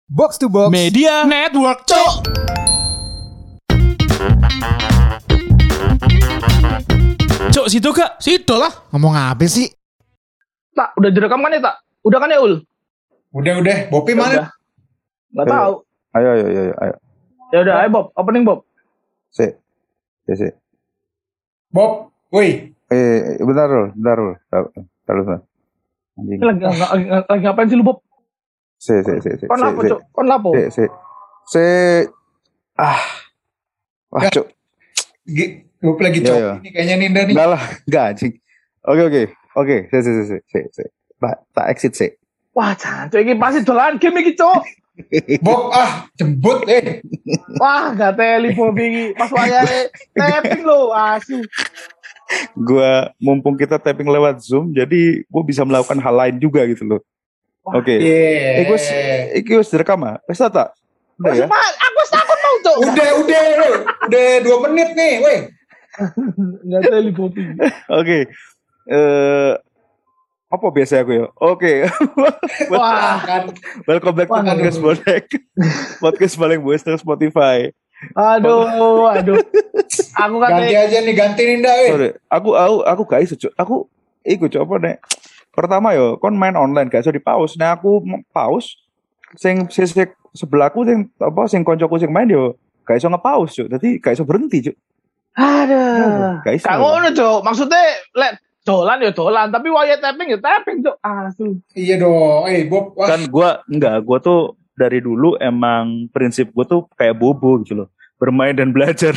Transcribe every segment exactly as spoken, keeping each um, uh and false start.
Box to Box Media Network, Cok. Cok, situ Kak. Situ lah. Ngomong apa sih? Tak, udah direkam kan ya tak? Udah kan ya Ul? Udah udah. Bopi mana? Gak tahu. Ayo ayo ayo ayo. Ya udah, ayo Bob, opening Bob. Si. Si si. Bob, woi. Eh, bentar dulu, bentar dulu. Bentar dulu. Anjing. Ini lagi, lagi, lagi ngapain sih lu Bob? Si si si si. Kon lapo si, Cok? Kon lapo? Si si. Si. Ah. Wah, Ya. Cuk. G- Bob lagi Iya, cok iya. ini kayaknya Ninda nih. Enggak lah, enggak anjing. Oke oke. Oke, si si si si si. si. Tak tak exit si. Wah, jancuk iki pasti dolan game iki Cok. Bob ah jembut eh. Wah, gak teli Bob iki. Pas wayahe tapping lo, asu. Gua mumpung kita tapping lewat Zoom, jadi gua bisa melakukan hal lain juga gitu loh. Wah, Oke. Yeah. Eh, gua iki wis direkam ah. Wis tak? Udah ya. Mas, aku takut mau Cok. Udah udah lu. Udah dua menit nih, woi. Gak teli Bob iki. Oke. Eh apa biasa aku ya? Oke. Wah, Kan Welcome back Wah, to Podcast Bonek. Podcast paling best di Spotify. aduh, aduh. Aku ganti kata aja nih, ganti Ninda eh. Sorry, aku aku aku gak iso, Cuk. Aku iku Cuk, apa nek. Pertama yo, kon main online gak iso di pause. Nah aku m- pause sing sisi sebelahku sing apa sing koncoku sing main yo gak iso nge-pause, Cuk. Dadi gak iso berhenti, Cuk. Aduh. Gak iso. Kak ngono Cok. Maksudnya lek dolan ya dolan, tapi waya tapping ya tapping Cok. Asu. Iya dong. Eh Bob, wah. Kan gua enggak, gua tuh dari dulu emang prinsip gua tuh kayak bobo gitu loh. Bermain dan belajar.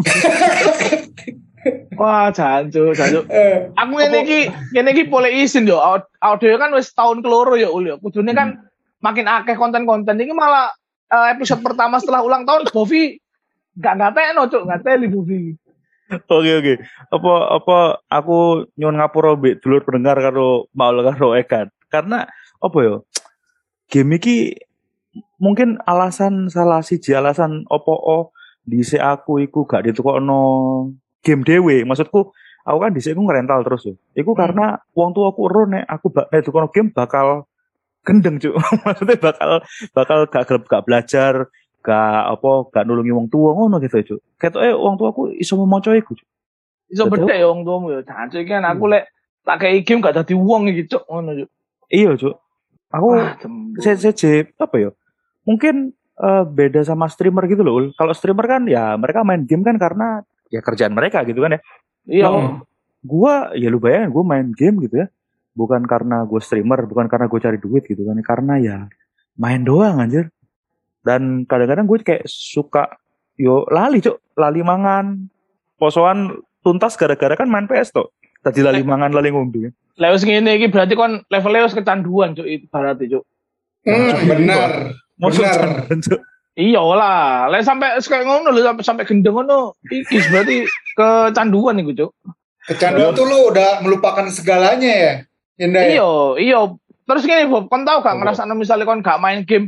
Wah, jancuk, jancuk. Eh, Aku ngene iki, ngene iki boleh izin yo. Aud- Audio kan wis tahun keloro ya Ul yo. Kudune kan makin akeh konten-konten iki malah eh, episode pertama setelah ulang tahun Bovi gak ngatekno Cuk, ngateli Bovi. Oke oke. Apa apa aku nyuwun ngapura mbek dulur pendengar karo Maul karo Ekan. Karena apa yo? Game iki mungkin alasan salah siji alasan opo o dhisik aku iku gak ditukokno game dhewe. Maksudku aku kan dhisik aku ngerental terus yo. Iku Hmm. karena wong tuaku ero nek aku bak nek ditukokno game bakal gendeng Cuk. Maksudnya bakal bakal gak gelem gak belajar, gak apa gak nulungi wong tua ngono gitu Cuk. Ketoke wong tuaku iso memoco iku Cuk. Iso Betul. bedhe yo wong tuamu yo. Jancuk iki kan aku lek tak kei game gak dadi wong iki Cuk, ngono Cuk. Iya Cuk. Aku Wah, jembut. C C J apa ya? Mungkin eh, beda sama streamer gitu loh. Ul. Kalau streamer kan ya mereka main game kan karena ya kerjaan mereka gitu kan ya. Iya. Kalau gua ya lu bayangin gua main game gitu ya. Bukan karena gue streamer, bukan karena gue cari duit gitu kan. Karena ya main doang anjir. Dan kadang-kadang gue kayak suka yo lali Cuk, lali mangan. Posoan tuntas gara-gara kan main P S tuh. Tadi lali mangan, lali ngombe. Lek wis ngene iki berarti kon levelnya wis kecanduan Cuk, ibaratnya Cuk. hmm, benar. Maksud Benar. jangan, Cuk. Iya lah, lek sampai kayak ngono lho sampai sampai gendeng ngono, iki berarti kecanduan iku, Cuk. Kecanduan tuh lu udah melupakan segalanya ya. Ninda ya? Iya, iya. Terus gini, Bob, kon tau gak ngrasakno misalnya kon gak main game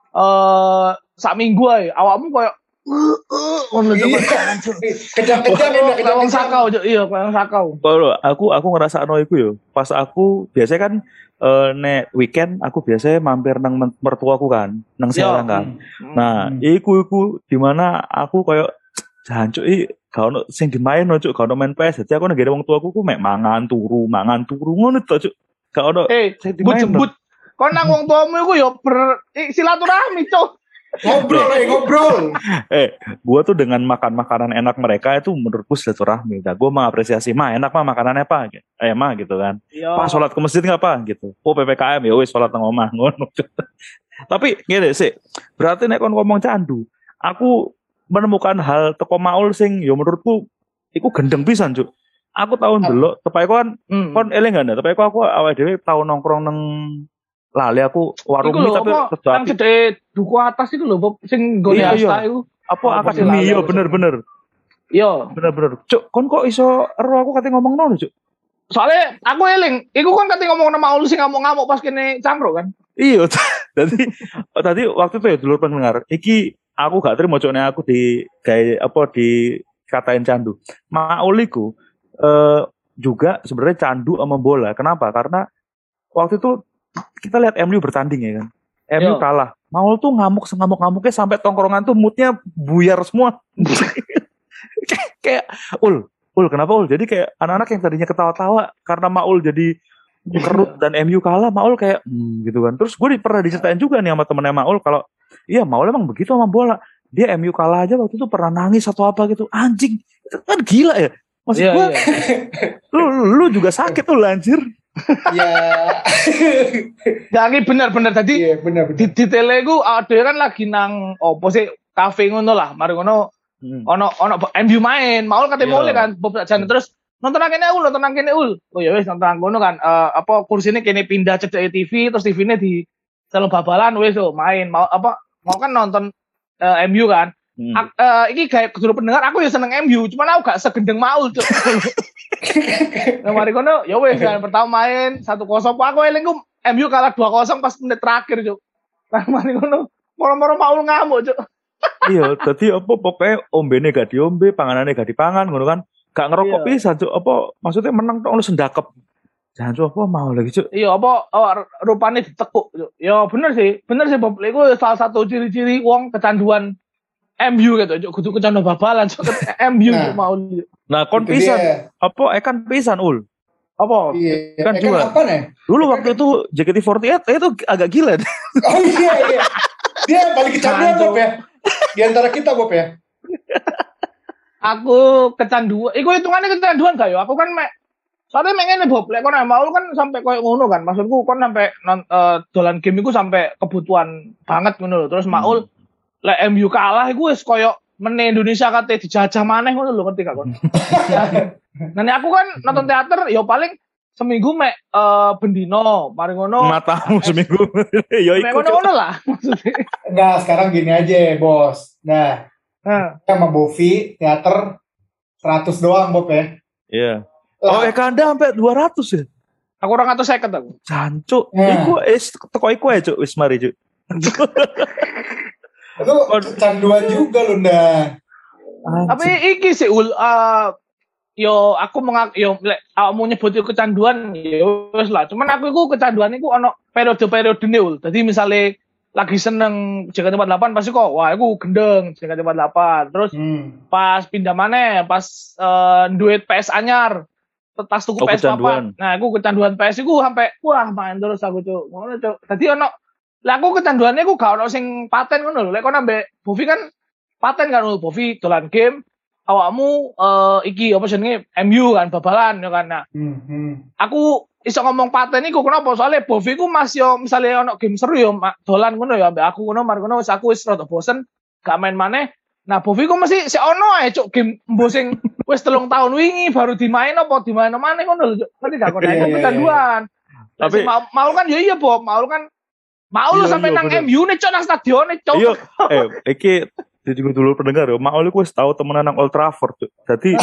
eh sak minggu ae, awakmu koyo ngono Cuk. Iya. Kejam-kejam Ninda, Kayak wong kejam-kejam. sakau, Cuk. Iya, kayak wong sakau. Kalau aku aku ngerasa no iku yo. Pas aku biasanya kan eh, nek weekend aku biasanya mampir nang men- mertuaku kan, nang Serang kan. Hmm. Nah, Hmm. iku iku di mana aku koyo jancuk i gak ono sing dimain no cuk, gak ono main P S. Jadi aku nang wong tuaku ku mek mangan turu, mangan turu ngono to cuk. Gak ono Eh, sing but dimain. jembut. Kon nang wong tuamu iku yo ber eh, silaturahmi, Cuk. Ngobrol eh ngobrol. Eh, gua tuh dengan makan makanan enak mereka itu menurutku silaturahmi. Nah, gua mengapresiasi mah enak mah makanannya apa? Gitu. Eh mah gitu kan. Iya. Pak sholat ke masjid nggak apa gitu. Oh P P K M ya wis sholat nang omah ngono. Tapi gini sih, berarti nek kon ngomong candu, aku menemukan hal teko Maul sing ya menurutku iku gendeng pisan Cuk. Aku tahun delok tepai kon Hmm. kon eling gak tepai aku awake dhewe tau nongkrong nang lali aku warung Iku mie lho, tapi apa, terus nang gede duku atas iku lho, Bob, sing nggone Iya, iya. asta iku. apa Apa akademi sih, yo lali? bener-bener Iya. bener-bener Cuk kon kok iso ero aku kate ngomong nono Cuk. Soalnya aku eling, iku kan kate ngomong nama Ul sing ngamuk-ngamuk pas kene cangkruk kan. Iya, tadi tadi waktu itu ya dulur pendengar, iki aku gak terima coknya aku di kayak apa di katain candu. Mauliku eh, juga sebenarnya candu sama bola. Kenapa? Karena waktu itu kita lihat M U bertanding ya kan. M U Iya. kalah Maul tuh ngamuk sengamuk-ngamuknya sampai tongkrongan tuh moodnya buyar semua. kayak, kayak ul, ul kenapa ul? Jadi kayak anak-anak yang tadinya ketawa-tawa karena Maul jadi kerut dan M U kalah, Maul kayak hmm, gitu kan. Terus gue pernah diceritain juga nih sama temennya Maul kalau iya Maul emang begitu sama bola. Dia M U kalah aja waktu itu pernah nangis atau apa gitu. Anjing, itu kan gila ya. Maksud Iya, gue, iya. lu, lu juga sakit tuh anjir. Ya. Jadi bener-bener tadi Iya, benar di benar. di tele ku ada kan lagi nang opo sih kafe ngono lah. Mari ngono Hmm. ono ono M U main, Maul kate Iya. Maul kan beberapa jam terus nonton nang kene ul, nonton nang kene ul. Oh ya wis nonton nang kono kan eh, apa kursine kene pindah cedek T V terus T V-ne di selo babalan wis oh, main. Mau apa mau kan nonton eh, M U kan. Hmm. Ak, eh, iki kayak kudu pendengar aku ya seneng M U, cuman aku gak segendeng Maul cuk. Nah mari kono ya wis kan pertama main satu kosong aku eling ku M U kalah dua kosong pas menit terakhir cuk. Nah mari kono moro-moro Maul ngamuk cuk. Iya, jadi apa pokoknya ombene gak diombe, panganane gak dipangan, ngono kan. Gak ngerokok Iya. pisan, Cuk. Apa maksudnya menang tok ono sendakep. Jangan Cuk, apa mau lagi, Cuk. Iya apa oh, rupane ditekuk cuk. Ya bener sih, bener sih Bob. Iku salah satu ciri-ciri wong kecanduan M U gitu cuk. Kudu kecanduan babalan cuk. M U Nah. cuk Maul. Cuk. Nah, kon Itu pisan. dia. Apa ekan pisan ul. Apa? Iya. Kan Eh, juga. apa nih? Dulu waktu itu J K T empat delapan itu agak gila. Oh iya iya. Dia yang paling kecanduan Bob ya. Di antara kita Bob ya. Aku kecanduan. Iku hitungannya kecanduan gak yo? Aku kan mek soalnya mek ngene Bob, lek kon Maul kan sampai koyo ngono kan. Maksudku kon sampai non, eh, dolan game iku sampai kebutuhan banget ngono lho. Terus Maul lek M U kalah iku wis koyo meneh Indonesia kate dijajah maneh ngono lho ngerti gak kon. Nah, nah, aku kan nonton teater ya paling seminggu mek eh, bendino, mari ngono. Matamu seminggu. Yo Mek iku. Cuk. ngono-ngono lah maksudnya. Enggak, sekarang gini aja bos. Nah, Nah, kita sama Bovi teater seratus doang Bob ya. Iya. Oh, Lah, Eka Anda sampai dua ratus ya? aku orang atau seket aku. Jancuk. Nah. Iku is teko iku ae, Cuk. Wis mari, Cuk. itu kecanduan juga loh Nda. Tapi iki sih ul eh, yo aku mengak yo lek awakmu nyebut iku kecanduan yo wis lah. Cuman aku iku kecanduan iku ono periode-periodene ul. Dadi misale lagi seneng J K T empat delapan pasti kok wah aku gendeng J K T empat delapan. Terus Hmm. pas pindah maneh pas eh, duit P S anyar tas tuku Oh, P S kecanduan. papat. Nah, aku kecanduan P S iku sampai wah main terus aku cuk. Ngono cuk. Dadi ono lah aku kecanduannya aku gak ono sing paten ngono lho. Lek kon ambek Bovi kan paten kan lho Bovi dolan game awakmu eh, iki apa jenenge M U kan babalan ya kan. Nah, Hmm. hmm. aku iso ngomong paten iku kenapa? Soalnya Bovi ku Mas yo misalnya ono game seru yo ma- dolan ngono ya ambek aku ngono mar ngono wis aku wis rada bosen gak main maneh. Nah, Bovi ku mesti si ono ae cuk game mbo sing wis telung tahun wingi baru dimain apa dimain maneh ngono lho cuk. Ngerti gak kok? Nah, Iya, iku iya, kecanduan. Tapi Tapi- mau, mau kan ya iya Bob, mau kan mau lu Iya, sampai iya, nang bener. M U nih cuk nang stadion nih cuk. Iya, eh, iki jadi gue dulu pendengar ya, Maul iku wis tau temenan nang Old Trafford. Cuk. Jadi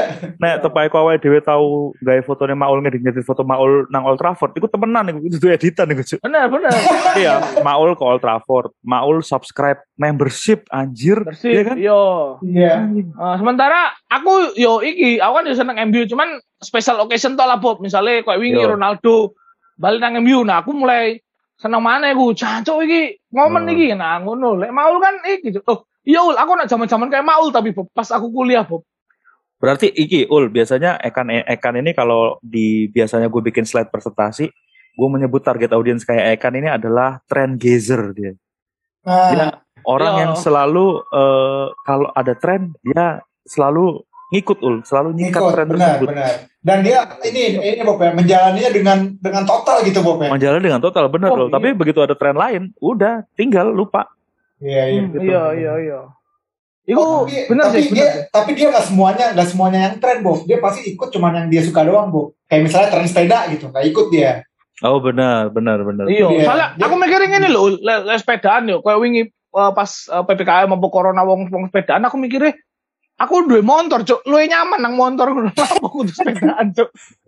nek tepak iku awake dhewe tau gawe fotone Maul ngedit-ngedit foto Maul nang Old Trafford, iku temenan iku itu editan iku, Cuk. Bener bener. Iya, Maul ke Old Trafford, Maul subscribe membership anjir, Bersih. iya kan? Yo. Iya. Eh, sementara aku yo iki, aku kan yo seneng M U cuman special occasion to lah Bob. Misalnya kayak wingi Yo. Ronaldo balik nang M U, nah aku mulai seneng mana aku jancuk iki momen Hmm. iki nah ngono. Lek Maul kan iki Cuk. Oh, iya ul, aku nak zaman-zaman kayak Maul tapi Bob, pas aku kuliah Bob. Berarti iki ul biasanya Ekan Ekan ini kalau di biasanya gue bikin slide presentasi, gue menyebut target audiens kayak Ekan ini adalah trend gazer dia. Nah, Dia orang Iya. yang selalu eh, kalau ada tren dia selalu ngikut ul, selalu nyikat ikut, tren benar, tersebut. benar. Dan dia ini ini Bob ya, menjalaninya dengan dengan total gitu Bob ya. Menjalani dengan total bener Oh, loh. iya. Tapi begitu ada tren lain, udah tinggal lupa. Iya, iya. Hmm, gitu. iya iya iya. Iku Oh, tapi, bener tapi sih, dia bener. tapi dia nggak semuanya nggak semuanya yang tren Bob. Dia pasti ikut cuman yang dia suka doang Bob. Kayak misalnya tren sepeda gitu, nggak ikut dia. Oh benar, benar, benar. Iya, Iya. soalnya Dia- aku mikirin ngene lho, le, le sepedaan yo, kayak wingi eh, pas eh, P P K M mampu corona wong wong sepedaan aku mikirnya aku duwe motor, Cuk. Luwih nyaman nang motor ngono. Aku kudu sepedaan, Cuk.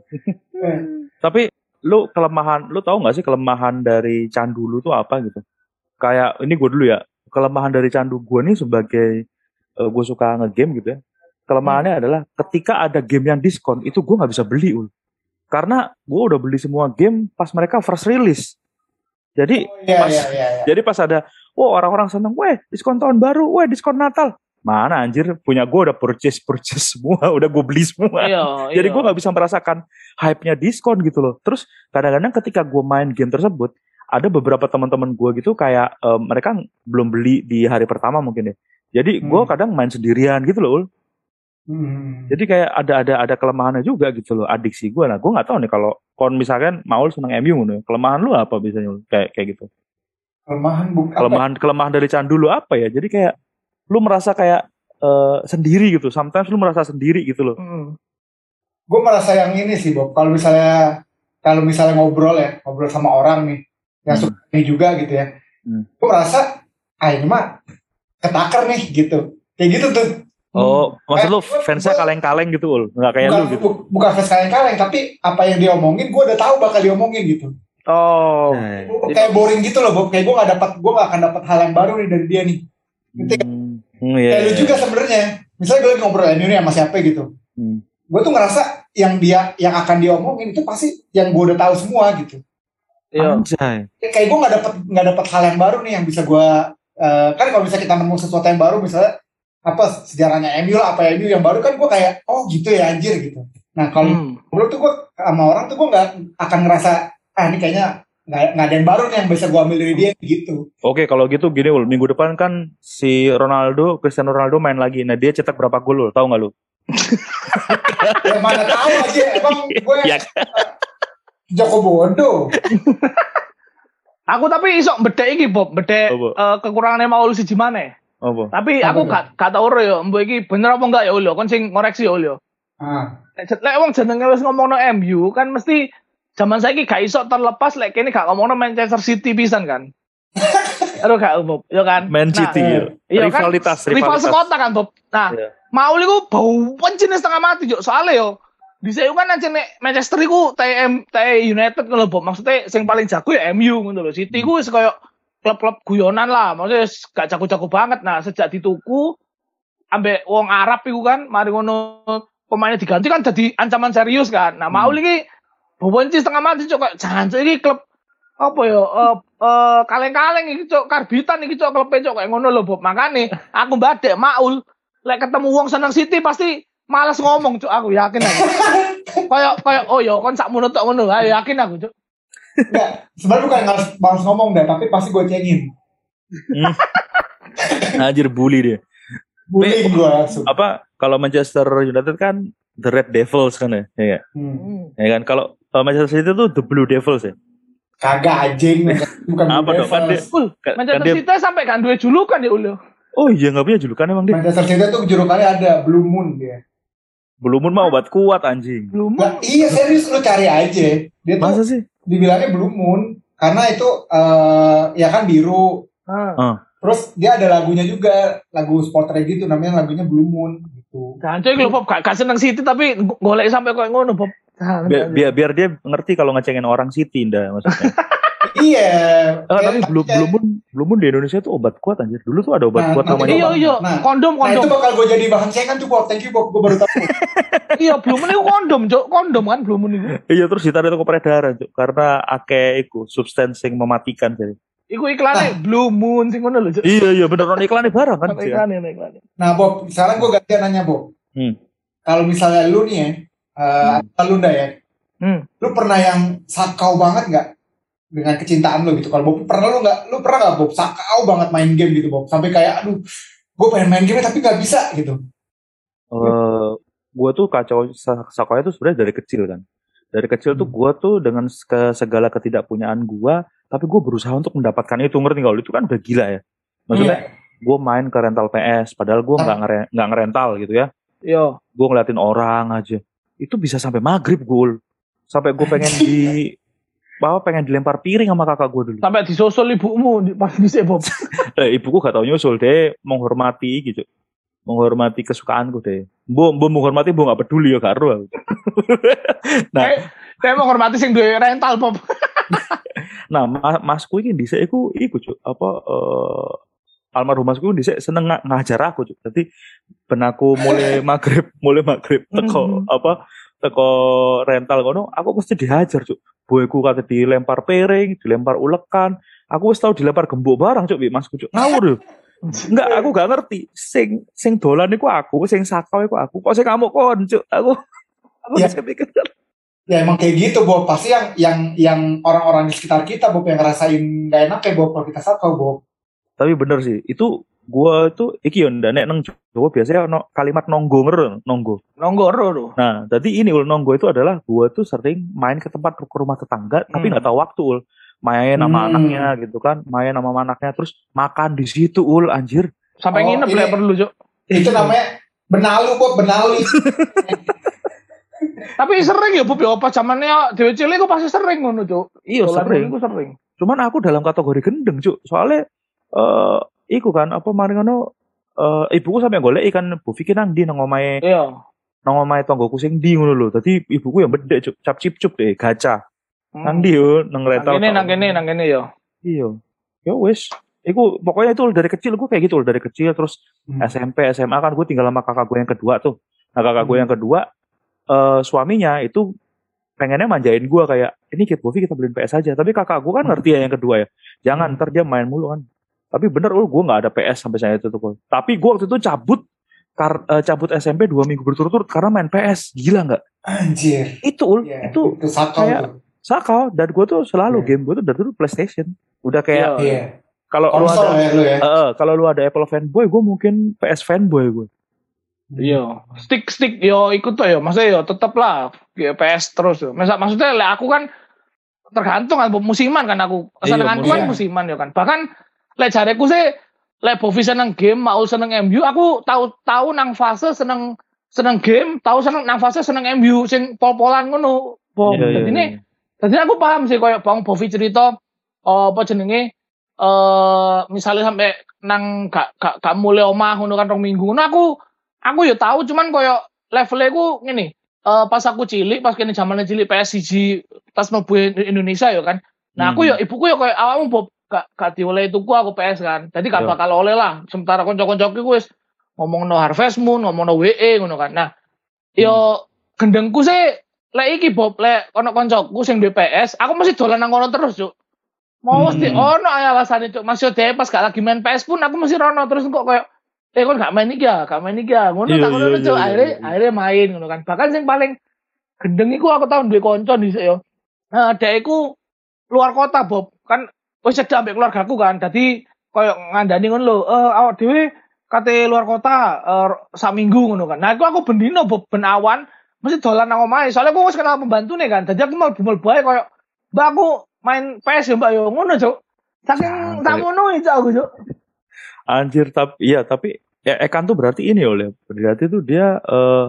Tapi lu kelemahan, lu tahu nggak sih kelemahan dari candu lu tuh apa gitu? Kayak ini gue dulu ya, kelemahan dari candu gue nih sebagai eh, gue suka ngegame gitu ya. Kelemahannya adalah ketika ada game yang diskon itu gue nggak bisa beli ul. Karena gue udah beli semua game pas mereka first release. Jadi Oh, iya, pas iya, iya, iya. jadi pas ada wah orang-orang seneng, weh diskon tahun baru, weh diskon Natal. Mana anjir, punya gue udah purchase purchase semua, udah gue beli semua. Iya, Jadi iya. gue nggak bisa merasakan hype-nya diskon gitu loh. Terus kadang-kadang ketika gue main game tersebut, ada beberapa teman-teman gue gitu kayak eh, mereka belum beli di hari pertama mungkin ya. Jadi gue Hmm. kadang main sendirian gitu loh, Ul. Hmm. Jadi kayak ada ada ada kelemahannya juga gitu loh, adiksi gue. Nah gue nggak tahu nih kalau kon misalkan Maul seneng M U nih, kelemahan lu apa biasanya Ul? kayak kayak gitu? Kelemahan bukan apa? Kelemahan kelemahan dari candu lu apa ya? Jadi kayak lu merasa kayak eh, sendiri gitu. Sometimes lu merasa sendiri gitu loh. Hmm. Gue merasa yang ini sih Bob. Kalau misalnya kalau misalnya ngobrol ya, ngobrol sama orang nih yang Hmm. suka ini juga gitu ya. Hmm. Gue merasa ah ini mah ketakar nih gitu. Kayak gitu tuh. Oh, maksud lu Kayak- fansnya kaleng-kaleng gitu Ul? Nggak kayak bukan, lu gitu? bu- bukan fans kaleng-kaleng, tapi apa yang dia omongin gue udah tahu bakal diomongin gitu. Oh. Nah, Kayak boring gitu loh Bob. Kayak gue gak dapat, gue gak akan dapat hal yang baru nih dari dia nih. Ngerti kan? Hmm, hmm, iya, Kayak lu iya. juga sebenarnya. Misalnya gue lagi ngobrol M U nih sama siapa gitu. Hmm. Gue tuh ngerasa yang dia yang akan diomongin itu pasti yang gue udah tahu semua gitu. Iya. Anjay. Kayak gue nggak dapat nggak dapat hal yang baru nih yang bisa gue eh, kan kalau misalnya kita nemu sesuatu yang baru misalnya apa sejarahnya M U lah apa M U yang baru kan gue kayak oh gitu ya anjir gitu. Nah kalau Hmm. ngobrol tuh gue sama orang tuh gue nggak akan ngerasa ah ini kayaknya nggak nggak ada yang baru nih yang bisa gue ambil dari dia gitu. Oke, kalau gitu gini Ul, minggu depan kan si Ronaldo, Cristiano Ronaldo main lagi. Nah, dia cetak berapa gol Ul? Tahu nggak lu? Yang mana tahu aja emang gue Ya. Joko Bodo. Aku tapi iso bedek iki Bob, bedek Apa? eh, kekurangannya Maul siji maneh. Apa? Tapi Apa aku tuh? gak gak tau ora ya, mbok iki bener apa enggak ya Ul, kon sing ngoreksi ya Ul ya. Ah. Lek lek wong jenenge wis ngomongno M U kan mesti zaman saiki gak iso terlepas lek kene gak ngomongno Manchester City pisan kan. Aduh gak Bob, ya kan. Man Nah, City. eh, ya. iya kan, rivalitas, rival rivalitas. sekota kan Bob. Nah, Iya. Maul iku bau pencin setengah mati yo. Soale yo di saya kan aja nek Manchester iku T M T United ngono Bob. Maksudnya sing paling jago ya M U ngono lho. City ku wis koyo klub-klub guyonan lah. Maksudnya wis gak jago-jago banget. Nah, sejak dituku ambek wong Arab iku kan, mari ngono pemainnya diganti kan jadi ancaman serius kan. Nah, Maul iki bau pencin setengah mati cok. Kayak, jangan cok iki klub apa ya eh eh, kaleng-kaleng iki cok, karbitan iki cok klub cok kayak ngono lho Bob. Makane aku badek Maul lek ketemu wong seneng City pasti malas ngomong cuk, aku yakin aku. Kayak kayak oh ya kon sakmono tok ngono. Ayo yakin aku cuk. Enggak, sebenarnya bukan harus harus ngomong deh, tapi pasti gue cengin. Anjir bully dia. Bullying gue langsung. Apa kalau Manchester United kan The Red Devils kan ya? Ya, nggak? Hmm. Ya kan kalau uh, Manchester City tuh The Blue Devils ya. Kagak anjing, bukan Apa Blue dong? Kan dia, Devils. Ul, kan, kan Manchester dia City sampai kan duwe julukan ya Ul. oh iya nggak punya julukan emang dia. Manchester City tuh julukannya ada Blue Moon dia. Blue Moon mah obat kuat anjing. Belum. Nah, iya serius lu cari aja. Dia tuh Masa sih? dibilangnya Blue Moon karena itu eh ya kan biru. Heeh. Terus dia ada lagunya juga, lagu sportnya gitu namanya lagunya Blue Moon gitu. Jangan lho Bob, gak, gak seneng City tapi golek sampai koyo ngono Bob. Jangan, Biar, jangan. biar biar dia ngerti kalau ngecengin orang City ndak maksudnya. Iya. Ah, tapi Kayak- Blue, Blue Moon Blue Moon di Indonesia tuh obat kuat anjir. Dulu tuh ada obat Nah, kuat nanti namanya. Iya iya, Nah, kondom Nah itu kondom. bakal gue jadi bahan cekan tuh Bob. Thank you Bob, gue baru tahu. Iya, belum ini kondom, Cuk. Kondom kan belum ini. Iya terus ditarik ke peredaran Cuk. Karena akeh iku substansi yang mematikan jadi. Iku iklannya Blue Moon sing ngono lho, Cuk. Iya iya bener non iklannya barang kan. sih, ya. Iklannya, iklannya. Nah Bob, sekarang gue gantian nanya Bob. Hmm. Kalau misalnya lu nih ya, uh, Hmm. lu nda ya, Hmm. lu pernah yang sakau banget nggak dengan kecintaan lu gitu? Kalau Bob pernah lu nggak, lu pernah nggak Bob sakau banget main game gitu Bob, sampai kayak aduh, gue pengen main game tapi nggak bisa gitu. Eh, gue tuh kacau sakonya tuh sebenarnya dari kecil kan. Dari kecil tuh Hmm. gue tuh dengan ke segala ketidakpunyaan gue, tapi gue berusaha untuk mendapatkan itu, ngerti nggak? Itu kan udah gila ya. Maksudnya Iya. gue main ke rental P S, padahal gue nggak ngere- nggak ngerental gitu ya. Yo. Gue ngeliatin orang aja, itu bisa sampai maghrib gol, sampai gue pengen di bahwa pengen dilempar piring sama kakak gue dulu. Sampai disusul ibumu di pas dhisik, Bob. Eh, ibuku gak tau nyusul deh, menghormati gitu, menghormati kesukaanku deh. Bu, bu menghormati, bu gak peduli ya karo. Nah, Kayak kayak menghormati sing duwe rental, Bob. nah mas, masku ini dhisik iku iku Cuk, apa eh, almarhum masku dhisik seneng nga- ngajar aku Cuk. Jadi ben aku mulai maghrib, mulai maghrib teko Mhm. apa teko rental kono, aku mesti dihajar Cuk. Boyku kate dilempar piring, dilempar ulekan, Aku wis tau dilempar gembok barang cuk, Mas cuk. Ngawur yo. Enggak, aku gak ngerti. Sing sing dolan iku aku, sing sakau iku aku. Kok sing ngamuk kon cuk. Aku aku Ya. bisa pikir. Ya emang kayak gitu, Bob. Pasti yang yang yang orang-orang di sekitar kita, Bob, yang ngerasain gak enak kayak Bob kalau kita sakau, Bob. Tapi bener sih, itu gua tuh iki yo ndak nek nang Jawa biasanya ono kalimat nonggo ngeru, nonggo. Nonggo ro tuh. Nah, jadi ini ul nonggo itu adalah gua tuh sering main ke tempat ke rumah tetangga tapi Hmm. nggak tahu waktu ul. Main sama Hmm. anaknya gitu kan, main sama anaknya terus makan di situ ul anjir. Sampai Oh, nginep ini- lek perlu, Cuk. Itu namanya benalu, Bob, benalu. Tapi sering ya Bob ya pas zamannya dhewe cilik ku pasti sering ngono, Cuk. Iya Dolan sering. ngono ku sering. Cuman aku dalam kategori gendeng cuk. Soalnya eh iku kan apa maring ngono eh ibuku sampe golek ikan bu Vicky nang ndi nang omahe Iya. nang omahe tonggoku sing ndi ngono lho. Dadi ibuku yang bedek cuk, cap cip cup deh gacha. Hmm. Nang ndi yo nang Nang rental. kene nang kene nang kene ya. Iya. Ya wis. Iku pokoknya itu dari kecil gue kayak gitu dari kecil terus Hmm. S M P S M A kan gue tinggal sama kakak gue yang kedua tuh. Nah kakak gue Hmm. yang kedua eh suaminya itu pengennya manjain gue kayak ini Kid Bovi kita beliin P S aja. Tapi kakak gue kan ngerti ya yang kedua ya. Jangan ntar dia main mulu kan. Tapi bener ul gue nggak ada P S sampai saya itu tuh. Tapi gue waktu itu cabut kar, eh, cabut S M P dua minggu berturut-turut karena main P S. Gila nggak? Anjir. Itu ul Ya, itu itu sakau kayak- tuh. sakau dan gue tuh selalu Iya. game gue tuh dari dulu PlayStation. Udah kayak Iya. Iya. kalau lu Konsol ada ya lu ya. Eh, eh, kalau lu ada Apple fanboy, gue mungkin P S fanboy gue. Iya, stick stick yo ikut tuh yo, maksudnya yo tetep lah ya, P S terus yo. Masa maksudnya lek aku kan tergantung kan musiman kan aku. Iya, Senenganku kan musiman. musiman yo kan. Bahkan lek jareku sih lek Bovi seneng game, mau seneng M U, aku tahu tahu nang fase seneng seneng game, tahu seneng nang fase seneng M U sing pol-polan ngono. Bom. Iya, iya, Jadi ini iya. jadi aku paham sih koyo Bang Bovi cerita eh, apa jenenge eh misalnya sampai nang gak gak gak mulai omah ngono kan rong minggu. Nah aku aku ya tahu cuman koyo levelnya ku ngene. Eh pas aku cilik, pas kene zamane cilik P S siji pas mlebu Indonesia ya kan. Nah aku Hmm. ya ibuku ya koyo awakmu Bob gak gak diolehi tuku aku P S kan. Jadi gak Iya. bakal oleh lah. Sementara kanca-kancaku wis ngomongno Harvest Moon, ngomongno W E ngono kan. Nah, yo gendengku sih lek iki Bob, lek ono kancaku sing duwe P S, aku mesti dolan nang kono terus, Cuk. Mau mesti Hmm. ono ae alasane, Cuk. Mas yo dhewe pas gak lagi main P S pun aku mesti rono terus kok koyo eh kon gak main iki ya, gak main iki ya. Ngono Iya, tak ngono, iya, Cuk. iya, Akhirnya iya. akhirnya main ngono kan. Bahkan sing paling gendeng iku aku tau duwe kanca dhisik yo. Nah, dhek iku luar kota, Bob. Kan wis cedhak ambek keluargaku kan. Dadi koyo ngandani ngono lho, eh awak dhewe kate luar kota eh, sak minggu ngono kan. Nah, iku aku bendino Bob ben awan mesti dolan nang omahe. Soalnya aku wis kenal pembantune kan. Dadi aku mau bumel bae koyo Mbak aku main P S ya Mbak yo ngono, Cuk. Saking Santai. tamono itu aku, Cuk. Anjir tapi iya tapi ya Ekan tuh berarti ini oleh berarti tuh dia eh,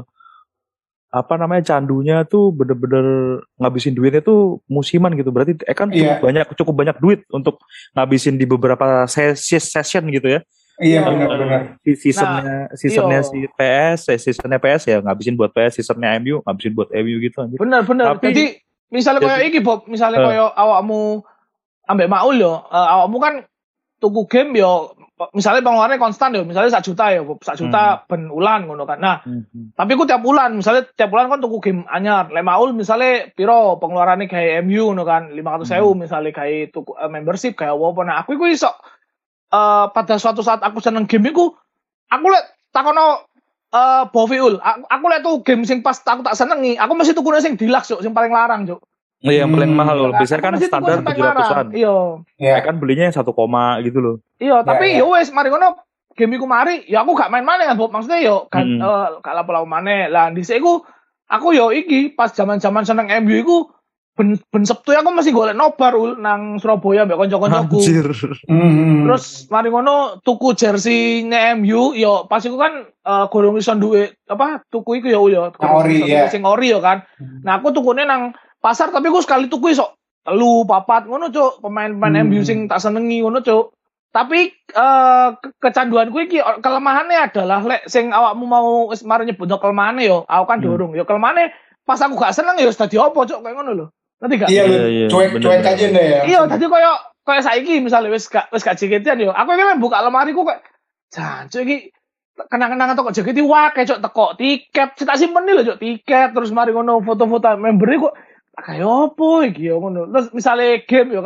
apa namanya candunya tuh bener-bener ngabisin duitnya tuh musiman gitu. Berarti Ekan cukup Iya. banyak cukup banyak duit untuk ngabisin di beberapa ses- session gitu ya. Iya Nah, benar-benar. Si seasonnya seasonnya iya. si P S, eh, seasonnya P S ya ngabisin buat P S, seasonnya M U ngabisin buat M U gitu anjir. Bener bener. Tapi- Jadi misalnya koyo jadi- iki Bob, misalnya Eh. koyo awakmu ambek Maul yo, eh, awakmu kan tuku game yo misalnya pengeluarannya konstan yo, misalnya sak juta yo, Bob, sak juta ben ulan ngono kan. Nah, Hmm. tapi ku tiap bulan, misalnya tiap bulan kan tuku game anyar. Lek Maul misalnya piro pengeluarannya kayak M U ngono kan, lima ratus ribu misalnya kayak tuku eh, membership kayak apa. Nah, aku iku iso eh pada suatu saat aku seneng game iku, aku lek takono eh Boviul, aku, aku lek tuh game sing pas aku tak senengi, aku mesti tukune sing deluxe, Cuk, sing paling larang, Cuk. Iya yang paling Hmm. mahal loh. Biasanya Aku kan mesti tuku standar sing paling tujuh ratusan. larang. Iya. Iya. Kan belinya yang satu koma gitu loh. Iya, tapi ya. yo wes mari ngono game iku mari, ya aku gak main maneh kan, Bob. Maksudnya yo kan Mm-mm. eh, gak lapo-lapo maneh. Lah dhisik iku aku yo iki pas zaman-zaman seneng M U iku ben ben Sabtu aku masih golek nobar ul nang Surabaya mbek kanca-kancaku. Anjir. Hmm. Terus mari ngono tuku jersey-ne M U yo pas iku kan eh, gorong iso duwe apa tuku iku yo ul yo. Yang ori, Gorong iso ya. tuku sing ori yo kan. Nah aku tukune nang pasar tapi aku sekali tuku iso telu papat ngono, Cuk. Pemain-pemain Hmm. M U sing tak senengi ngono, Cuk. Tapi eh ke- kecanduanku iki kelemahannya adalah lek sing awakmu mau wis mari nyebutno kelemahannya yo, aku kan Hmm. dorong. Yo kelemahannya pas aku gak seneng yo wis dadi apa, Cuk, kayak ngono lho. Ngerti gak? Iya lu Iya, iya, cuek bener, cuek bener. aja deh ya. Iya, tadi koyo koyo saiki misalnya wis gak wis gak jaketian yo. Aku iki buka lemari ku kayak jancuk iki kenang-kenangan toko jaket iki wae cok teko tiket, tak simpen lho cok tiket terus mari ngono foto-foto member iku kayak opo iki yo ngono. Terus misalnya game yo kan.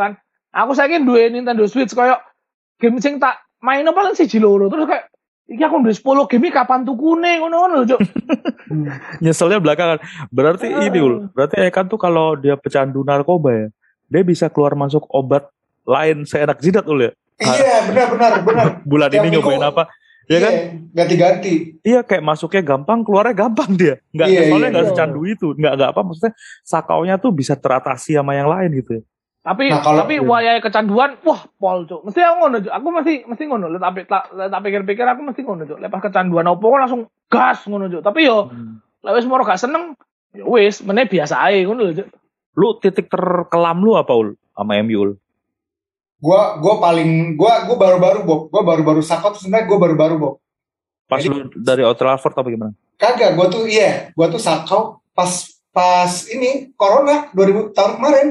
Aku saiki duwe Nintendo Switch koyo game sing tak main paling siji loro terus kayak iki aku duwe sepuluh game kapan tukune ngono-ngono lho, Cuk. Nyeselnya belakangan. Berarti Ah. ini ul. Berarti Ekan tuh kalau dia pecandu narkoba ya, dia bisa keluar masuk obat lain seenak jidat ul ya. Iya, benar benar benar. Bulan Tiap ini nyobain minggu- apa? Ya kan? Iya, ganti-ganti. Iya kayak masuknya gampang, keluarnya gampang dia. Nggak, Iya, soalnya iya, nggak iya. secandu itu. Nggak nggak apa maksudnya sakaunya tuh bisa teratasi sama yang lain gitu ya. Tapi Nah, kalau- tapi wayahe kecanduan, wah pol Cuk. Mesti aku ngono Cuk. Aku mesti mesti ngono. Lek tapi tak lek tak pikir-pikir aku mesti ngono Cuk. Lepas kecanduan opo kok langsung gas ngono Cuk. Tapi yo lek wis moro gak seneng, ya wis meneh biasa ae ngono lho Cuk. Lu titik terkelam lu apa ul sama M U ul? Gua gua paling gua gua baru-baru Bob. Gua baru-baru sakot sebenarnya gua baru-baru Bob. Pas Jadi- lu dari Old Trafford apa gimana? Kagak, gua tuh iya, gua tuh sakau pas pas ini corona dua ribu tahun kemarin.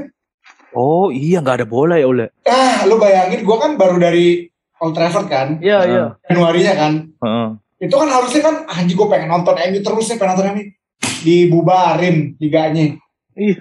Oh iya nggak ada bola ya ul ya. Ah, lu bayangin gua kan baru dari Old Trafford kan, Iya Ah. iya. Januarinya kan. Heeh. Itu kan harusnya kan anjing gua pengen nonton M U terus nih, pengen nonton M U. Dibubarin liganya. Iya.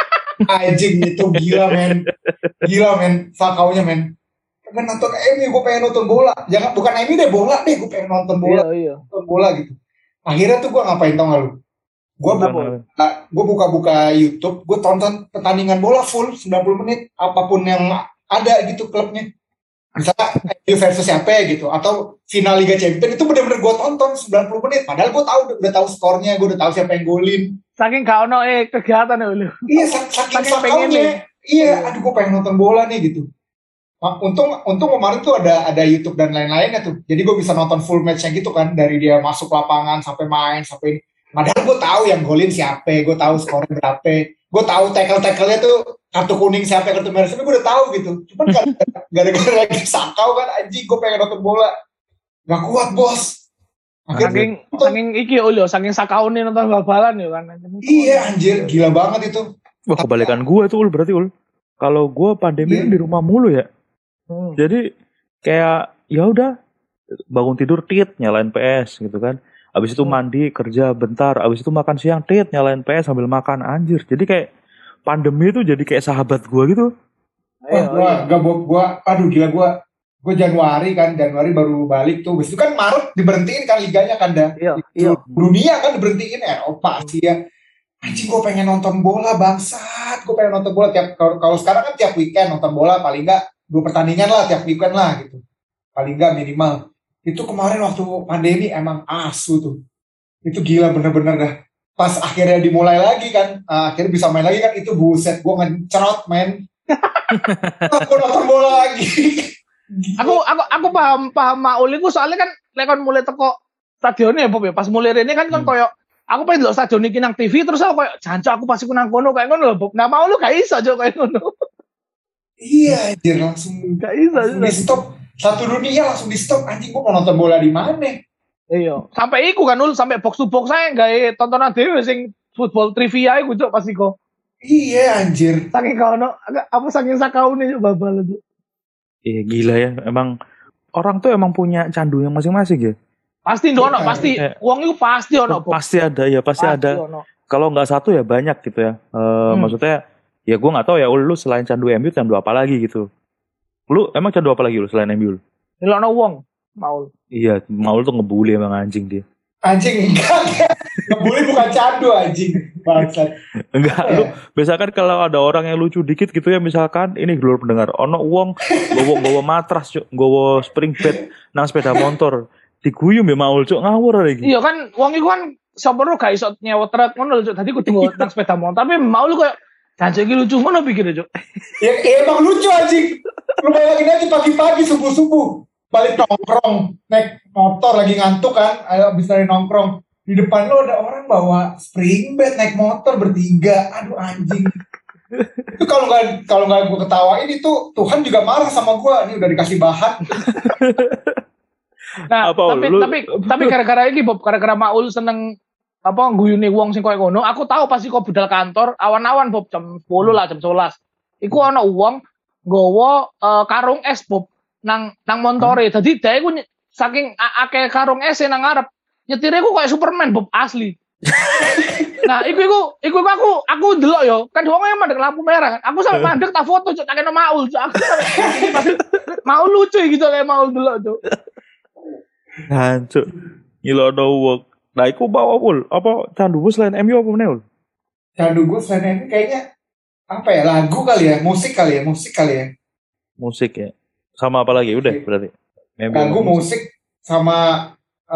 Anjing itu gila men. Gila men, sakaunya men. Pengen nonton M U, gue pengen nonton bola. Jangan bukan M U deh, bola deh, gue pengen nonton bola, Iya iya. nonton bola gitu. Akhirnya tuh gue ngapain tau gak lu? Gue Bukan, buka, Ul. gue buka-buka YouTube, gue tonton pertandingan bola full sembilan puluh menit, apapun yang ada gitu klubnya. Misalnya M U versus siapa gitu, atau final Liga Champions itu bener-bener gue tonton sembilan puluh menit. Padahal gue tahu udah tahu skornya, gue udah tahu siapa yang golin. Saking gak ono eh kegiatan ya lho. Iya, sak- saking Saking pengennya. sakaunya. Iya, aduh gue pengen nonton bola nih gitu. Ma- Untung, untung kemarin tuh ada ada YouTube dan lain-lainnya tuh. Jadi gue bisa nonton full match-nya gitu kan, dari dia masuk lapangan sampai main sampai ini. Padahal gue tahu yang golin siapa, gue tahu skornya berapa, gue tahu tackle-tackle-nya tuh kartu kuning siapa, kartu merah siapa, gue udah tahu gitu. Cuman kan gara-gara lagi sakau kan, anjing gue pengen nonton bola, gak kuat bos. Akhirnya, Saking saking iki yo lho, saking sakaune nonton bal-balan yo kan. iya anjir, gila banget itu. Wah kebalikan gue tuh ul berarti ul. Kalau gue pandemi Iya. kan di rumah mulu ya. Hmm. Jadi kayak ya udah bangun tidur tit nyalain P S gitu kan. Abis itu mandi kerja bentar. Abis itu makan siang tit nyalain P S sambil makan anjir. Jadi kayak pandemi itu jadi kayak sahabat gue gitu. Wah, Ayo, gua, ayo. gua, gua, gua, aduh gila gua, gua Januari kan, Januari baru balik tuh. Habis itu kan Maret diberhentiin kan liganya kan dah. Iya, Di iya. dunia kan diberhentiin, Eropa, Asia. Anjing gua pengen nonton bola bangsat, gua pengen nonton bola tiap kalau kalau sekarang kan tiap weekend nonton bola paling enggak dua pertandingan lah tiap weekend lah gitu. Paling enggak minimal. Itu kemarin waktu pandemi emang asu tuh. Itu gila bener-bener dah. Pas akhirnya dimulai lagi kan, ah, akhirnya bisa main lagi kan, itu buset gua ngecerot men. Aku nonton bola lagi. Aku aku aku paham paham Maul iku soalnya kan lek kon mulai teko stadionnya ya Bob ya. Pas mulai rene kan kon Hmm. koyo aku pengen delok stadion iki nang T V terus aku koyo jancuk aku pasti ku nang kono kayak ngono lho Bob. Nah Maul lu gak iso jo kayak ngono. Iya, anjir langsung Gak iso. langsung di stop. Satu dunia langsung di stop. Anjing gua mau nonton bola di mana? Iya. Sampai iku kan ul sampai box to box saya gawe tontonan dhewe sing football trivia iku cuk pasti kok. Iya anjir. Saking kau no, apa saking sakaune cuk babal cuk. Iya gila ya. Emang orang tuh emang punya candu yang masing-masing ya. Pasti ono, Iya, pasti iya. wong iku pasti ono Bob. Pasti ada ya, pasti, ada. ono. Kalau nggak satu ya banyak gitu ya. Eh, Hmm. Maksudnya ya gue nggak tahu ya. Ul, lu selain candu M U candu apa lagi gitu? Lu emang candu apa lagi lu selain M U? Delokno wong Maul. Iya, Maul tuh ngebully emang anjing dia. Anjing enggak. enggak. Ngebully bukan candu anjing. Bangsat. Enggak, Apa lu ya? biasakan kalau ada orang yang lucu dikit gitu ya, misalkan ini dulur pendengar, ono uang gowo gowo matras cuk, gowo spring bed nang sepeda motor, diguyum ya Maul cuk ngawur lagi. Iya kan wong iku kan sopir gak iso nyewa truk ngono lho cuk. Dadi kudu nggo nang sepeda motor tapi Maul koyo jancuk iki lucu ngono pikir cuk. Ya, ya emang lucu anjing. Lu bayangin aja pagi-pagi subuh-subuh balik nongkrong naik motor lagi ngantuk kan, ayo abis dari nongkrong di depan lo ada orang bawa spring bed naik motor bertiga. Aduh anjing. Itu kalau nggak kalau nggak gue ketawain itu Tuhan juga marah sama gue. Ini udah dikasih bahan. Nah, Apa, tapi lu- tapi tapi gara-gara iki Bob, gara-gara Maul seneng apa guyune wong sing koyo ngono, aku tahu pasti kok budal kantor awan-awan Bob jam sepuluh lah jam sebelas. Iku ana wong nggawa eh, karung es Bob nang nang montore. Dadi dhek iku ny- saking a- akeh karung es nang ngarep, nyetire ku kayak Superman Bob asli. Nah, iku iku iku iku aku aku ndelok yo. Kan wong mandek lampu merah kan. Aku sampe mandek tak foto cuk tak kena Maul cuk. Aku sampe Maul lucu gitu le Maul ndelok cuk. Hancur. Ngilono wong. Nah, iku bawa Ul. Apa candumu selain M U apa meneh Ul? Candu gue selain itu kayaknya apa ya, lagu kali ya, musik kali ya, musik kali ya. Musik ya. Sama apa lagi? Udah berarti. M U Lagu, sama musik sama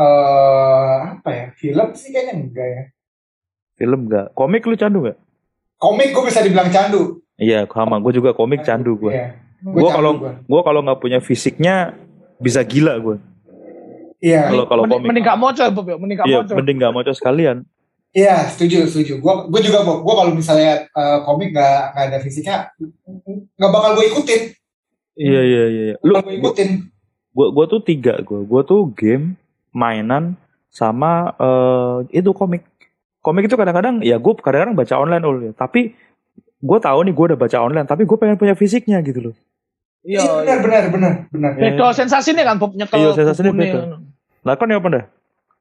eh apa ya, film sih kayaknya enggak ya. Film enggak? Komik lu candu enggak? Komik gue bisa dibilang candu. Iya, sama. Gue juga komik candu gue. Iya. Gue candu kalau gua. gue kalau nggak punya fisiknya bisa gila gue. Iya. Kalau kalau Mending, komik. mending gak moco Bob ya, mending gak Iya, moco. mending nggak moco sekalian. Iya, setuju, setuju. Gue gue juga Bob. Gue kalau misalnya uh, komik gak, gak ada fisiknya, nggak bakal gue ikutin. Iya iya iya. Lu Bakal gue ikutin. gue gue tuh tiga gue. Gue tuh game, mainan, sama uh, itu komik. Komik itu kadang-kadang ya gue kadang-kadang baca online ul ya. Tapi gue tahu nih gue udah baca online, tapi gue pengen punya fisiknya gitu loh. Iya, benar, benar, benar, benar. Beda sensasinya kan Bob nyekel. Iya, sensasinya bukunya. beda. Lah kan ya apa dah?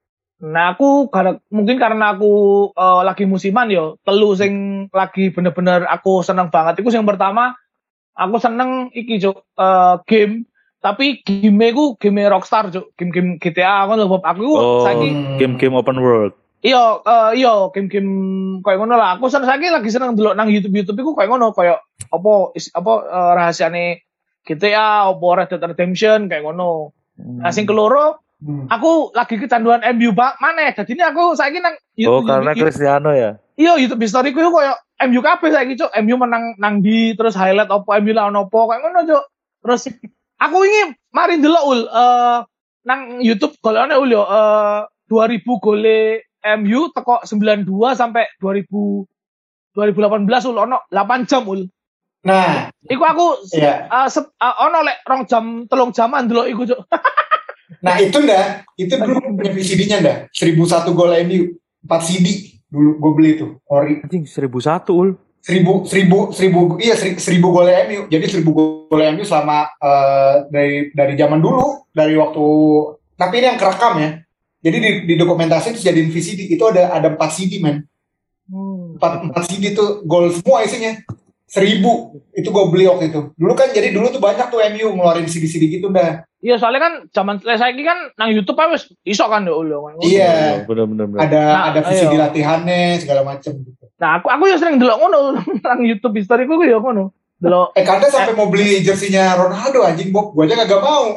Nah aku karena mungkin karena aku uh, lagi musiman yo, telu sing lagi bener-bener aku seneng banget. Iku yang pertama aku seneng iki cuk uh, game, tapi game ku game Rockstar cuk, game-game G T A ngono lho Bob. Aku Oh, saiki game-game open world. iya uh, iya game-game koyo ngono lah. Aku seneng saiki lagi seneng delok nang YouTube-YouTube iku koyo ngono, koyo apa is, apa uh, rahasiane G T A, apa Red Dead Redemption kayak ngono. Nah sing keloro Hmm. aku lagi kecanduan M U bak mana jadi ini aku saiki nang Oh, karena Cristiano ya. iya YouTube history ku koyo M U kabeh saiki cuk, M U menang nang di terus highlight opo M U lawan opo kayak ngono cuk. Terus aku ingin mari ndelok ul uh, nang YouTube golekane ul yo uh, dua ribu gole M U teko sembilan puluh dua sampai dua ribu dua ribu delapan belas ul ono delapan jam ul. Nah, Iku aku iya. uh, sep, uh, ono lek rong jam telung jaman ndelok iku cuk. Nah itu ndak, itu dulu punya V C D-nya ndak, seribu satu gol M U, empat C D dulu gue beli tuh, ori. Anjing seribu satu ul. Seribu, seribu, seribu, iya seri- seribu gol M U. Jadi seribu gol M U selama uh, dari dari zaman dulu, dari waktu. Tapi ini yang kerekam ya. Jadi di, di dokumentasi itu jadiin V C D itu ada ada empat C D men. Empat empat C D tuh gol semua isinya. Seribu itu gue beli waktu itu. Dulu kan jadi dulu tuh banyak tuh M U ngeluarin C D C D gitu dah. Iya soalnya kan zaman saya kan nang YouTube aja wis iso kan yo ul. Iya. Bener-bener. Ada Nah, ada V C D ayo. latihannya segala macem gitu. Nah, aku aku ya sering delok ngono nang YouTube history ku ya ngono. Delok. Eh Kanda sampai mau beli jersinya Ronaldo anjing Bob, gue aja kagak mau.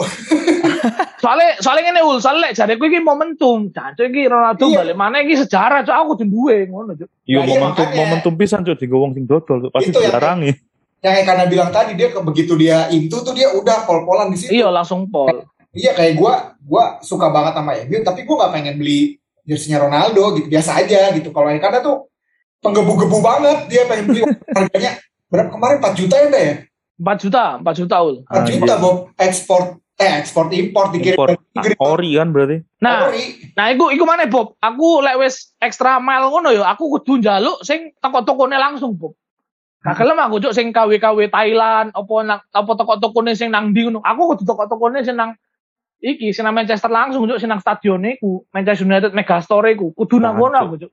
Soalnya soalnya ngene ul, soalnya lek jareku iki momentum. Jancuk iki Ronaldo Iya. balik mana iki sejarah cuk aku kudu duwe ngono cuk. Iya Nah, iya, momentum makanya. momentum pisan cuy digo wong sing dodol tuh pasti Itu yang- dilarangi. Yang kayak Kanda bilang tadi dia ke- begitu dia into tuh dia udah pol-polan di situ. Iya langsung pol. Iya kayak gue, gue suka banget sama M U, tapi gue nggak pengen beli jersinya Ronaldo gitu, biasa aja gitu. Kalau yang Kanda tuh penggebu-gebu banget, dia pengen beli harganya berapa kemarin empat juta ya Nda ya? empat juta, empat juta ul. empat juta Anjir. Bob, ekspor eh ekspor impor dikirim Impor dari Inggris. ori kan berarti. Nah, Ori. nah iku iku mana Bob? Aku lek wis extra mile ngono ya, aku kudu njaluk sing toko-tokone langsung Bob. Gak gelem aku cuk sing K W K W Thailand, apa nang apa toko-tokone sing nang ndi ngono. Aku kudu toko-tokone sing nang iki sing nang Manchester langsung cuk sing nang stadione ku, Manchester United Megastore ku. Kudu nang kono aku cuk.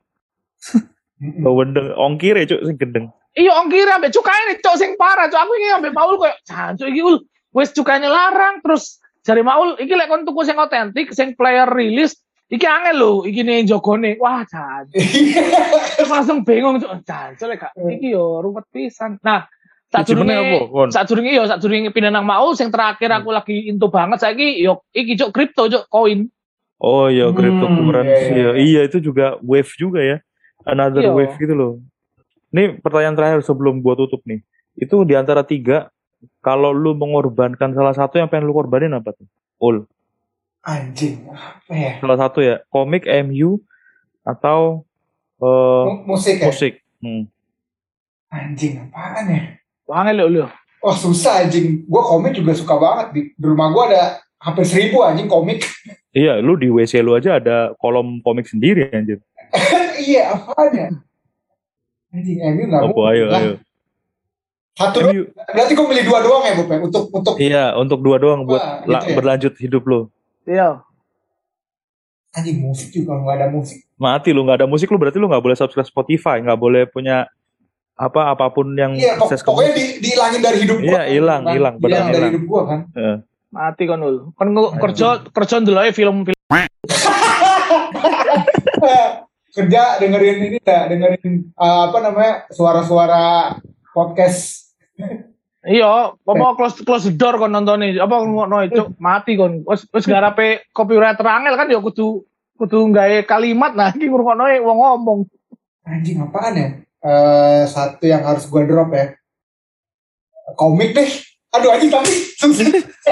Oh wendeng ongkir ya cuk sing gendeng. Iya ongkir ambek cukaine cuk sing parah cuk. Aku iki ambek Paul koyo jancuk iki ul. Wis cukane larang terus jare Maul iki lek kon tuku sing otentik, sing player release iki angel lho, iki nih jogone. Wah, jancuk. Terus langsung bingung cuk. Jancuk lek gak iki yo ruwet pisan. Nah, Siji meneh apa, Kon? sadurunge sadurunge yo sadurunge pindah nang Maul sing terakhir aku lagi into banget saiki yo iki cuk kripto cuk koin. Oh iya Hmm, cryptocurrency iya, ya. iya. Iya itu juga wave juga ya. Another Iya. wave gitu loh. Ini pertanyaan terakhir sebelum gua tutup nih. Itu di antara tiga, kalau lu mengorbankan salah satu yang pengen lu korbanin apa tuh? Ul. Anjing, apa ya? Salah satu ya, komik M U atau eh, Mu- Musik ya? musik. Hmm. Anjing, apaan ya? Angel lho lho. Oh susah anjing, gue komik juga suka banget. Di, di rumah gue ada hampir seribu anjing komik. Iya, lu di W C lu aja ada kolom komik sendiri anjir. Iya, apaan ya? Anjing, M U gak Apa mungkin ayo lah. ayo. Satu M doang. U. Berarti gue milih dua doang ya, Bob ya? Untuk, untuk Iya, untuk dua doang buat Wah, la- gitu ya. berlanjut hidup lu. Iya. Anjing musik juga nggak ada musik. Mati lu, nggak ada musik lu berarti lu nggak boleh subscribe Spotify, nggak boleh punya apa apapun yang Iya, pok- akses ke pokoknya musik. di, dihilangin dari hidup gua. Iya, hilang, kan? hilang, benar Hilang dari hilang. hidup gua kan. Heeh. Mati kon ul. Kon nge- kerja kerja ndeloke film-film. Kerja dengerin ini dah, dengerin uh, apa namanya suara-suara podcast. Iya, apa close close the door kon nonton apa ngono itu mati kon. Wis wis garape copywriter angel kan ya kudu kudu gawe kalimat nah iki ngrungokno wong ngomong. Anjing apaan ya? Eh satu yang harus gua drop ya. Komik deh. Aduh anjing tapi susah.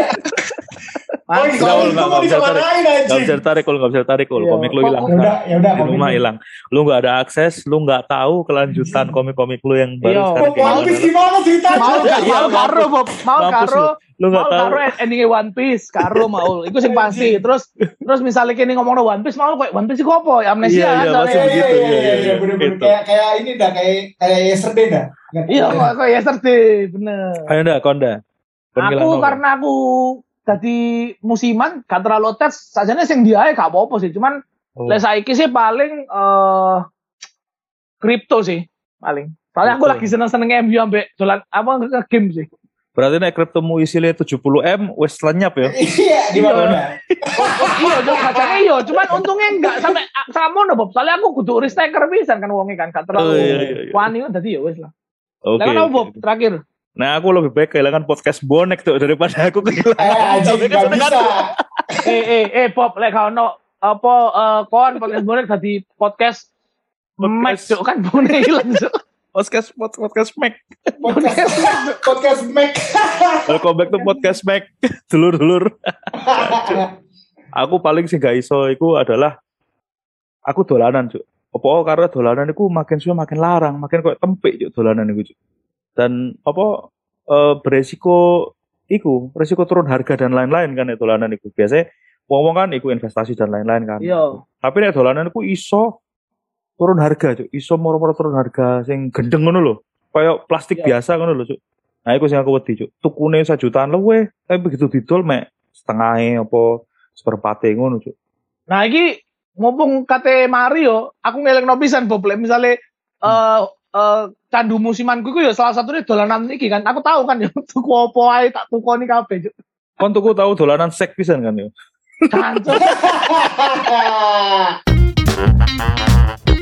Mati Nggak, kon. nggak, nggak bisa tarik. Dimarahin, Gak anjing. bisa ditarik kalau nggak bisa ditarik kalau Iya. komik lu hilang. Ya udah, ya udah Di komik rumah lu. hilang. Lu nggak ada akses, lu nggak tahu kelanjutan komik-komik lu yang baru Iya. sekarang Kok kayak One Piece gimana. gimana ceritanya? Mau Iya, iya, mau karo Bob, mau Mampus karo Lu nggak mau tahu. karo endingnya One Piece, karo mau. Iku sing pasti. Terus terus misalnya kini ngomongno One Piece mau kayak One Piece iku apa? Ya amnesia Iya, kan. iya, soalnya. pasti Iya, begitu, iya, iya, iya, iya, iya, bener-bener gitu. kayak kayak ini dah, kayak kayak yesterday dah. Iya, kok kok yesterday, bener. Ayo dah, Konda. Kon Aku ngilang apa? karena aku tadi musiman gak terlalu tes, sajane sing diae gak apa-apa sih. Cuman Oh. lek saiki sih paling eh kripto sih paling. Soalnya aku Kripto. lagi seneng-seneng M U ambek dolan apa nge-game sih. Berarti nek kriptomu isinya tujuh puluh M wis lenyap ya. Iya, di mana? Iya, jauh kacangnya iya, cuman untungnya enggak sampai sama no Bob. Soalnya aku kudu risk taker pisan kan wonge kan, gak terlalu Oh, iya, iya, iya. wani dadi ya wis lah. Oke. Lah kan apa oke. Bob terakhir? Nah, aku lebih baik kehilangan podcast bonek tuh daripada aku kehilangan. Eh, anjing topik nggak kesenangan. bisa. eh eh eh Bob lek gak ono apa eh kon podcast bonek dadi podcast Podcast. Max Cuk, kan bonek ilang Cuk. Podcast pod- podcast Mac. Podcast podcast Mac. Welcome back to podcast Mac. Dulur-dulur. Aku paling sih gak iso iku adalah aku dolanan, Cuk. Apa karena dolanan iku makin suwe makin larang, makin koyo tempik Cuk dolanan iku, Cuk. Dan apa eh, beresiko iku, resiko turun harga dan lain-lain kan ya dolanan iku. Biasanya wong-wong kan iku investasi dan lain-lain kan. Iya. Tapi nek dolanan iku iso turun harga, Cuk. Iso moro-moro turun harga sing gendeng ngono lho. Kayak plastik Iya. biasa ngono lho, Cuk. Nah, iku sing aku wedi, Cuk. Tukune sajutaan luwe, tapi begitu didol mek setengahnya apa seperempate ngono, Cuk. Nah, iki mumpung kate Mario, aku ngelingno pisan Bob lek misale eh eh candu musimanku iku ya salah satunya dolanan iki kan. Aku tahu kan ya tuku apa ae tak tukoni kabeh. Cuk. Kon tuku tahu dolanan sek pisan kan ya. Cancuk.